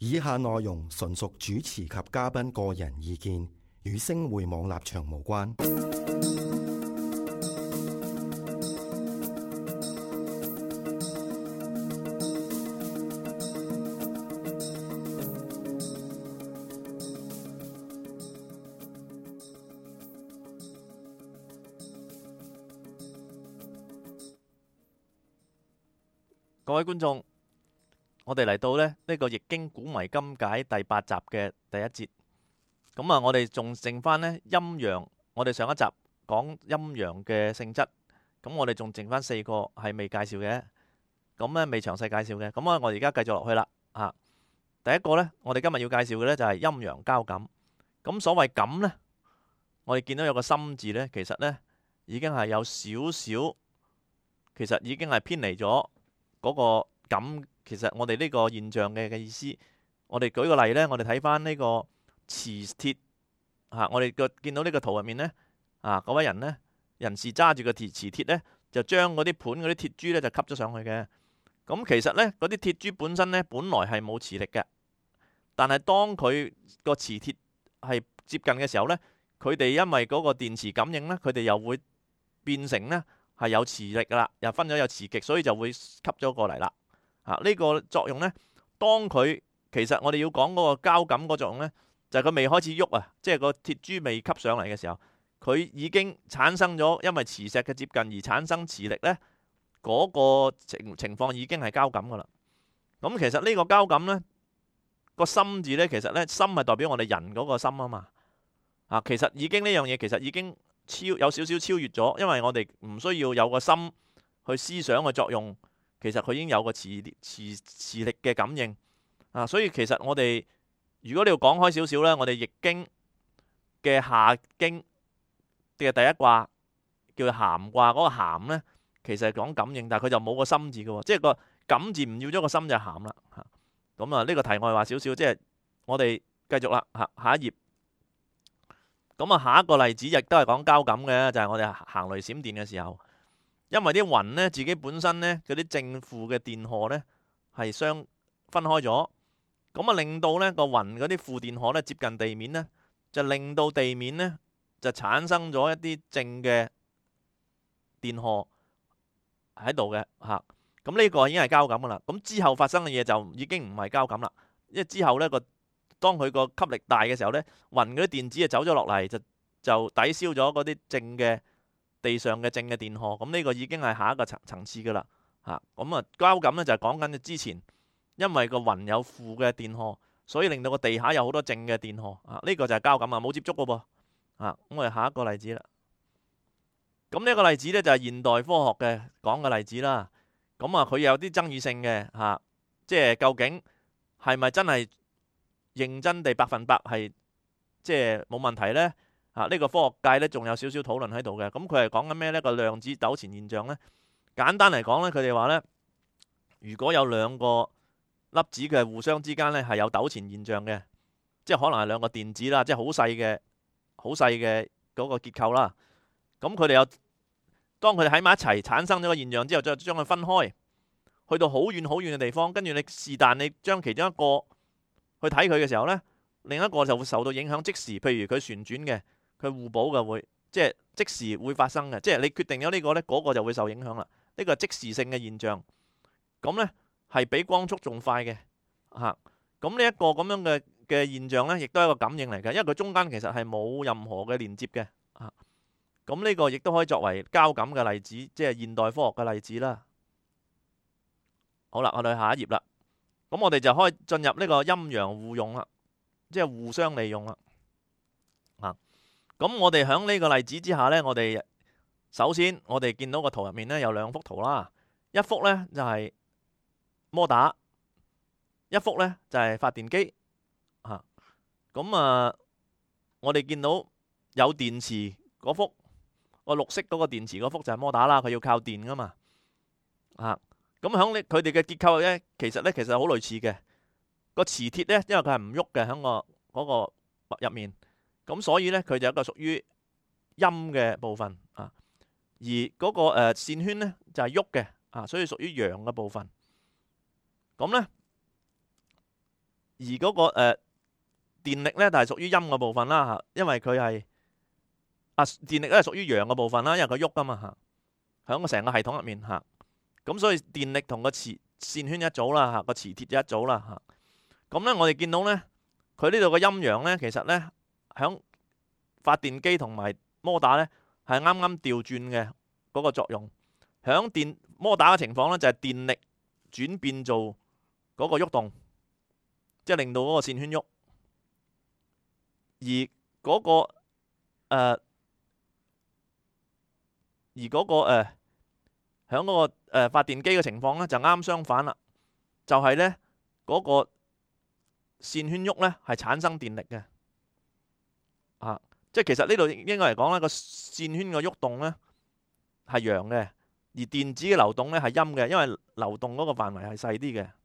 以下內容純屬主持及嘉賓個人意見，與星匯網立場無關。 各位觀眾，我哋嚟到呢個《易經古謎今解》第8集嘅第1節。咁啊，我哋仲剩翻呢陰陽。我哋上一集講陰陽嘅性質，咁我哋仲剩翻4個係未介紹嘅，咁呢未詳細介紹嘅。咁啊，我哋而家繼續落去啦。第一個呢，我哋今日要介紹嘅呢就係陰陽交感。咁所謂感呢，我哋見到有個心字呢，其實呢已經係有少少，其實已經係偏離咗嗰個感，其實我哋呢個現象嘅意思，我哋舉個例呢，我哋睇翻呢個磁鐵我哋見到呢個圖入面呢，嗰位人呢，人士揸住個磁鐵呢，就將嗰啲盤嗰啲鐵珠呢就吸咗上去嘅。咁其實呢，嗰啲鐵珠本身呢，本來係冇磁力嘅，但係當佢個磁鐵係接近嘅時候呢，佢哋因為嗰個電磁感應呢，佢哋又會變成呢係有磁力噶啦，又分咗有磁極，所以就會吸咗過嚟啦。呢個作用呢，當佢其實我哋要講嗰個交感嗰作用呢，就係佢未開始喐啊，即係個鐵珠未吸上嚟嘅時候，佢已經產生咗，因為磁石嘅接近而產生磁力呢，嗰個情況已經係交感噶啦。咁其實呢個交感呢，個心字呢，其實呢，心係代表我哋人嗰個心啊嘛。其實已經呢樣嘢其實已經有少少超越咗，因為我哋唔需要有個心去思想嘅作用，其實佢已經有個磁力嘅感應所以其實我哋如果你要講開少少呢，我哋易經嘅下經嘅第一卦叫咸卦，嗰個咸呢，其實係講感應，但係佢就冇個心字嘅，即係個感字唔要咗個心就咸啦。咁啊呢個題外話少少，即係我哋繼續啦。下一頁。咁啊，下一個例子亦都係講交感嘅，就係我哋行雷閃電嘅時候，因為啲雲呢，自己本身呢，嗰啲正負嘅電荷呢係相分開咗，咁啊令到呢個雲嗰啲負電荷呢接近地面呢，就令到地面呢就產生咗一啲正嘅電荷喺度嘅咁呢個已經係交感噶啦。咁之後發生嘅嘢就已經唔係交感啦，因為之後呢當佢個吸力大嘅時候呢，雲嗰啲電子就走咗落嚟，就抵消咗嗰啲正嘅地上嘅正嘅電荷。咁呢個已經係下一個層次噶啦。咁啊交感呢就係講緊之前，因為個雲有負嘅電荷，所以令到個地下有好多正嘅電荷。呢個就係交感啊，冇接觸噶噃。咁我哋下一個例子啦。咁呢個例子呢，就係現代科學嘅講嘅例子啦。咁啊佢有啲爭議性嘅即係究竟係咪真係認真地100%係即係冇問題呢？呢個科學界呢仲有少少討論喺度嘅。咁佢係講緊咩呢？個量子糾纏現象呢，簡單嚟講呢，佢哋話呢，如果有兩個粒子嘅互相之間呢係有糾纏現象嘅，即係可能係兩個電子啦，即係好細嘅嗰個結構啦。咁佢哋當佢哋喺埋一齊產生咗個現象之後，再將佢分開，去到好遠好遠嘅地方，跟住你是但你將其中一個去睇佢嘅時候呢，另一個就會受到影響，即時譬如佢旋轉嘅，佢互補嘅會，即係即時會發生嘅，即係你決定咗呢個呢，嗰個就會受影響啦。呢個係即時性嘅現象，咁呢係比光速仲快嘅咁呢一個咁樣嘅現象呢，亦都係一個感應嚟嘅，因為佢中間其實係冇任何嘅連接嘅咁呢個亦都可以作為交感嘅例子，即係現代科學嘅例子啦。好啦，我哋去下一頁啦。咁我哋就可以進入呢個陰陽互用啦，即係互相利用啦。咁我哋喺呢個例子之下呢，我哋首先我哋見到個圖入面呢有2幅圖啦，一幅呢就係摩打，一幅呢就係發電機。咁我哋見到有電池嗰幅，個綠色嗰個電池嗰幅就係摩打啦，佢要靠電噶嘛。咁喺佢哋嘅結構呢，其實好類似嘅。個磁鐵呢，因為佢係唔喐嘅，喺嗰個入面，咁所以呢，佢就一個屬於陰嘅部分而嗰個線圈呢，就係喐嘅所以屬於陽嘅部分。咁呢，而嗰個電力咧就係屬於陰嘅部分啦嚇，因為佢係電力咧係屬於陽嘅部分啦，因為佢喐噶嘛嚇，喺個成個系統入面嚇。咁所以電力同個線圈一組啦嚇，個磁鐵一組啦嚇。咁咧我哋見到咧，佢呢度個陰陽咧，其實咧喺發電機同埋摩打咧係啱啱調轉嘅嗰個作用。喺摩打嘅情況咧就係電力轉變做嗰個喐動，即係令到嗰個線圈喐。而嗰個喺嗰個發電機嘅情況咧就啱相反啦，就係咧嗰個線圈喐咧係產生電力嘅，即係其實呢度應該嚟講咧個線圈嘅喐動咧係陽嘅，而電子嘅流動咧係陰嘅，因為流動嗰個範圍係細啲嘅，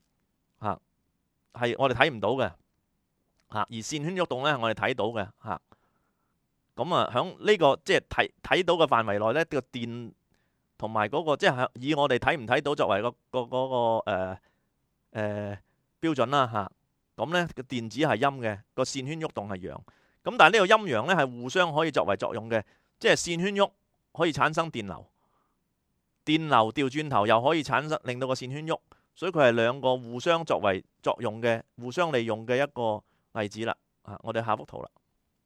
係我哋睇唔到嘅，而線圈喐動咧係我哋睇到嘅，咁啊喺呢個即係睇到嘅範圍內咧，個電同埋嗰個即係以我哋睇唔睇到作為個標準啦嚇。咁咧個電子係陰嘅，個線圈喐動係陽。咁但係呢個陰陽咧係互相可以作為作用嘅，即係線圈喐可以產生電流，電流調轉頭又可以產生令到個線圈喐，所以佢係兩個互相作為作用嘅、互相利用嘅一個例子啦。我哋下幅圖啦。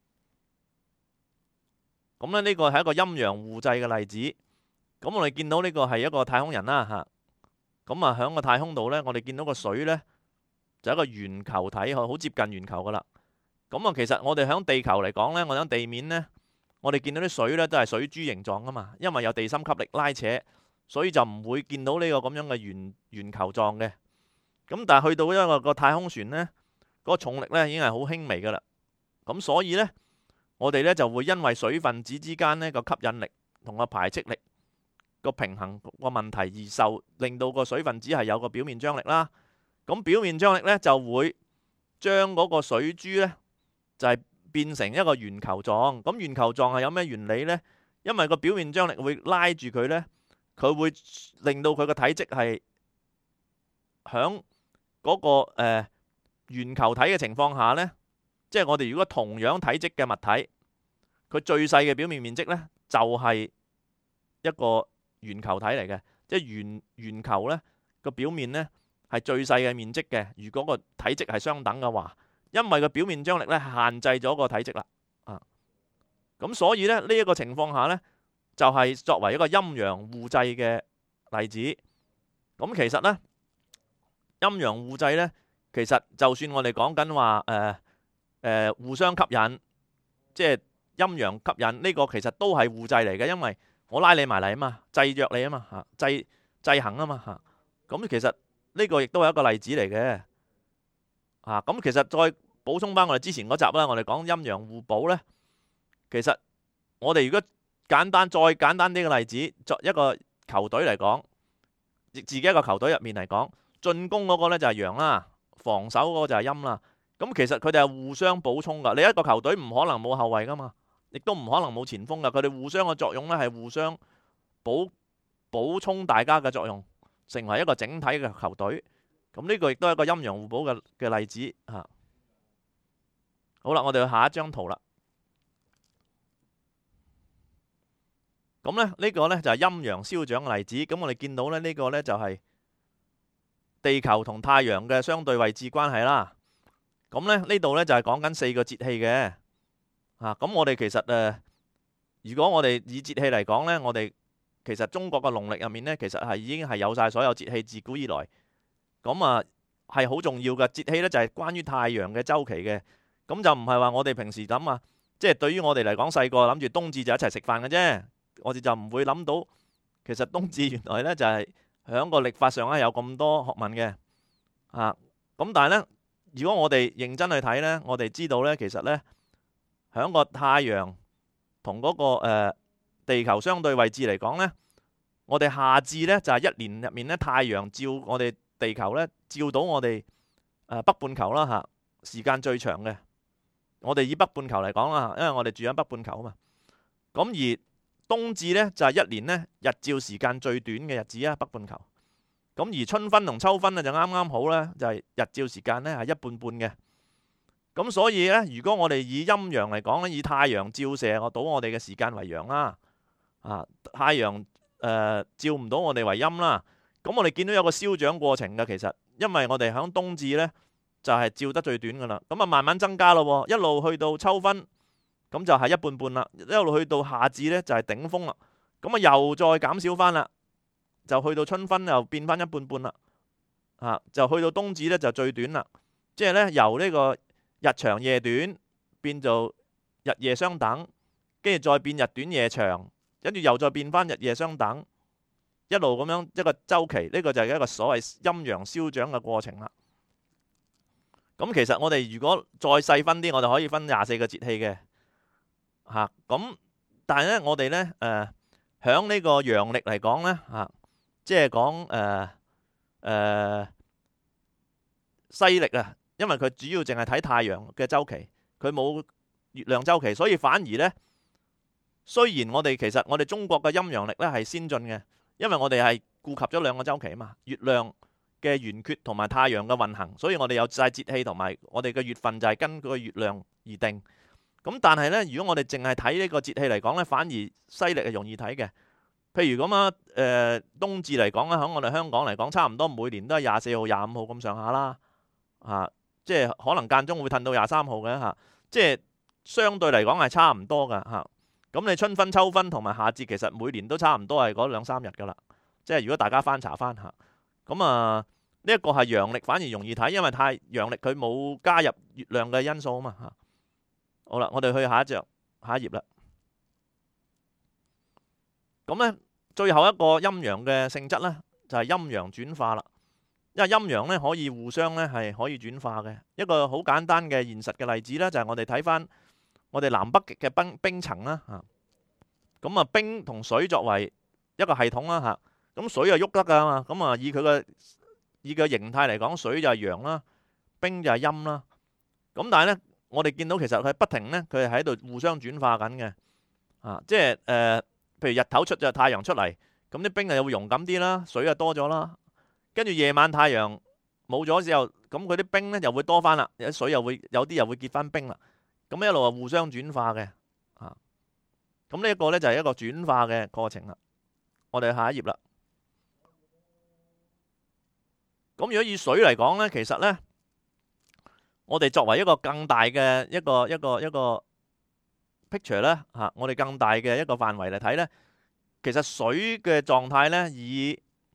咁咧呢個係一個陰陽互濟嘅例子。咁我哋見到呢個係一個太空人啦嚇。咁啊喺個太空度咧，我哋見到個水咧就係一個圓球體，好接近圓球噶啦。咁啊，其實我哋喺地球嚟講咧，我哋喺地面咧，我哋見到啲水咧都係水珠形狀噶嘛，因為有地心吸力拉扯，所以就唔會見到呢個咁樣嘅圓球狀嘅。咁但係去到一個太空船咧，嗰個重力咧已經係好輕微噶啦。咁所以咧，我哋咧就會因為水分子之間呢個吸引力同個排斥力個平衡個問題而令到個水分子係有個表面張力啦。咁表面張力咧就會將嗰個水珠咧就係變成一個圓球狀。咁圓球狀係有咩原理呢？因為個表面張力會拉住佢咧，佢會令到佢個體積係響嗰個圓球體嘅情況下咧，即係我哋如果同樣體積嘅物體，佢最細嘅表面面積咧就係一個圓球體嚟嘅，即係圓球咧個表面咧係最細嘅面積嘅。如果個體積係相等嘅話，因為個表面張力咧限制咗個體積啦，咁所以咧呢一個情況下咧就係作為一個陰陽互濟嘅例子。咁其實咧陰陽互濟咧，其實就算我哋講緊話互相吸引，即係陰陽吸引呢個其實都係互濟嚟嘅，因為我拉你埋嚟啊嘛，制約你啊嘛，制衡啊嘛，咁其實呢個亦都係一個例子嚟嘅。咁其實再補充翻我哋之前嗰集啦，我哋講陰陽互補呢。其實我哋如果再簡單啲嘅例子，作一個球隊嚟講，自己一個球隊入面嚟講，進攻嗰個呢就係陽啦，防守嗰個就係陰啦。咁其實佢哋係互相補充噶。你一個球隊唔可能冇後衛噶嘛，亦都唔可能冇前鋒噶。佢哋互相嘅作用呢係互相補充大家嘅作用，成為一個整體嘅球隊。咁呢個亦都係一個陰陽互補嘅例子嚇。好啦，我哋去下一張圖啦。咁咧呢個呢就係陰陽消長嘅例子。咁我哋見到咧呢個呢就係地球同太陽嘅相對位置關係啦。咁咧呢度呢就係講緊4個節氣嘅。咁我哋其實如果我哋以節氣嚟講呢，我哋其實中國嘅農曆入面呢，其實係已經係有晒所有節氣，自古以來。咁係好重要嘅節氣呢，就係關於太陽嘅周期嘅。咁就唔係話我哋平時諗啊，即係對於我哋嚟講，細個諗住冬至就一齊食飯嘅啫。我哋就唔會諗到，其實冬至原來呢就係響個曆法上咧有咁多學問嘅。咁但係呢，如果我哋認真去睇呢，我哋知道呢，其實呢，響個太陽同嗰個地球相對位置嚟講呢，我哋夏至呢就係一年入面呢，太陽照我哋地球呢，照到我哋北半球啦嚇，時間最長嘅。我哋以北半球嚟講啦，因為我哋住喺北半球啊嘛。咁而冬至呢，就係一年呢日照時間最短嘅日子啊，北半球。 咁而春分同秋分咧就啱啱好咧，就係日照時間咧係一半半嘅。咁所以咧，如果我哋以陰陽嚟講咧，以太陽照射到我哋嘅時間為陽啦，太陽照唔到我哋為陰啦。咁我哋見到有個消長過程嘅，其實因為我哋響冬至咧就係照得最短噶啦，咁啊慢慢增加咯，一路去到秋分，咁就係一半半啦，一路去到夏至咧就係頂峰啦，咁啊又再減少翻啦，就去到春分又變翻一半半啦，就去到冬至咧就最短啦，即係咧由呢個日長夜短變做日夜相等，跟住再變日短夜長，跟住又再變翻日夜相等，一路咁樣一個周期，呢個就係一個所謂陰陽消長嘅過程啦。咁其實我哋如果再細分啲，我哋可以分24個節氣嘅咁但係咧我哋咧響呢個陽曆嚟講咧即係講西曆啊。因為佢主要淨係睇太陽嘅周期，佢冇月亮周期，所以反而呢，雖然我哋中國嘅陰陽曆呢係先進嘅，因為我哋係顧及咗兩個周期啊嘛，月亮嘅圓缺同埋太陽嘅運行，所以我哋有晒節氣同埋我哋嘅月份就係根據月亮而定。咁但係呢，如果我哋淨係睇呢個節氣嚟講呢，反而西曆係容易睇嘅。譬如咁冬至嚟講咧，喺我哋香港嚟講，差唔多每年都係24號、25號咁上下啦，即係可能間中會褪到23號嘅即係相對嚟講係差唔多㗎咁你春分、秋分同埋夏至，其實每年都差唔多係嗰2-3日㗎啦。即係如果大家翻查翻咁呢一個係陽曆，反而容易睇，因為陽曆佢冇加入月亮嘅因素啊嘛好啦，我哋去下一頁啦。咁呢，最後一個陰陽嘅性質呢，就係陰陽轉化啦。因為陰陽咧可以互相咧係可以轉化嘅，一個好簡單嘅現實嘅例子咧，就係我哋睇翻我哋南北極嘅冰層啦咁冰同水作為一個系統啦咁水係喐得噶嘛，咁以佢嘅形態嚟講，水就係陽啦，冰就係陰啦。咁但係咧，我哋見到其實佢不停咧，佢係喺度互相轉化緊嘅即係譬如日頭就太陽出嚟，咁啲冰又會溶咁啲啦，水就多咗啦。跟住夜晚太陽冇咗之後，咁佢啲冰咧又會多翻啦，有啲水又會有啲又會結翻冰啦，咁一路係互相轉化嘅咁呢一個咧就係一個轉化嘅過程啦。我哋下一頁啦。咁如果以水嚟講咧，其實咧我哋作為一個更大嘅一個 picture 咧我哋更大嘅一個範圍嚟睇咧，其實水嘅狀態咧以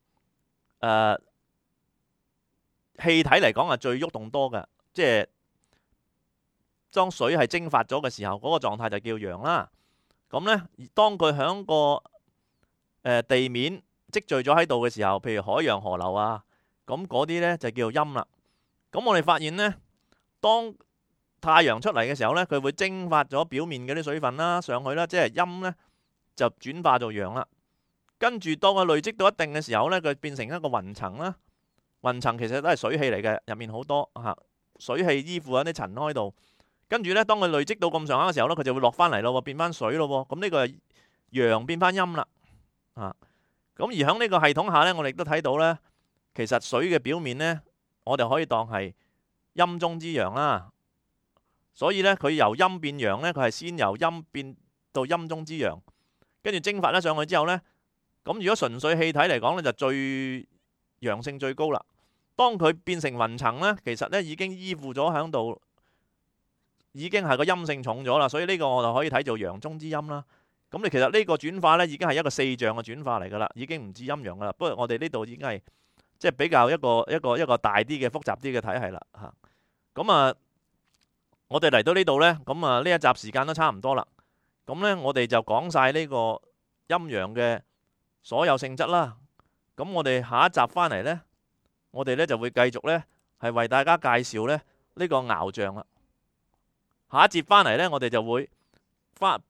氣體嚟講係最喐動多嘅，即係當水係蒸發咗嘅時候，嗰個狀態就叫陽啦。咁呢，當佢響個地面積聚咗喺度嘅時候，譬如海洋河流咁嗰啲呢就叫陰啦。咁我哋發現呢，當太陽出嚟嘅時候呢，佢會蒸發咗表面嗰啲水分啦上去啦，即係陰呢就轉化做陽啦。跟住當佢累積到一定嘅時候呢，佢變成一個雲層啦。雲層其實都係水氣嚟嘅，入面好多水氣依附喺啲塵埃度。跟住呢，當佢累積到咁上下嘅時候呢，佢就會落翻嚟咯，變翻水咯。咁呢個係陽變翻陰啦。咁而喺呢個系統下呢，我哋亦都睇到呢，其實水嘅表面呢，我哋可以當係陰中之陽啦。所以呢，佢由陰變陽呢，佢係先由陰變到陰中之陽，跟住蒸發咗上去之後呢，咁如果純粹氣體嚟講呢，就最陽性最高啦。當佢變成雲層呢，其實呢已經依附咗喺度，已經係個陰性重咗啦。所以呢個我就可以睇做陽中之陰啦。咁你其實呢個轉化呢已經係一個四象嘅轉化嚟噶啦，已經唔止陰陽噶啦。不過我哋呢度已經係即係比較一個大啲嘅複雜啲嘅體系啦嚇。咁我哋嚟到呢度呢，咁呢一集時間都差唔多啦。咁呢，我哋就講晒呢個陰陽嘅所有性質啦。咁我哋下一集翻嚟呢，我哋呢就會繼續呢係為大家介紹呢個爻象啦。下一節翻嚟呢，我哋就會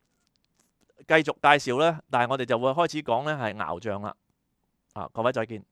繼續介紹呢，但係我哋就會開始講呢係爻象啦。各位再見。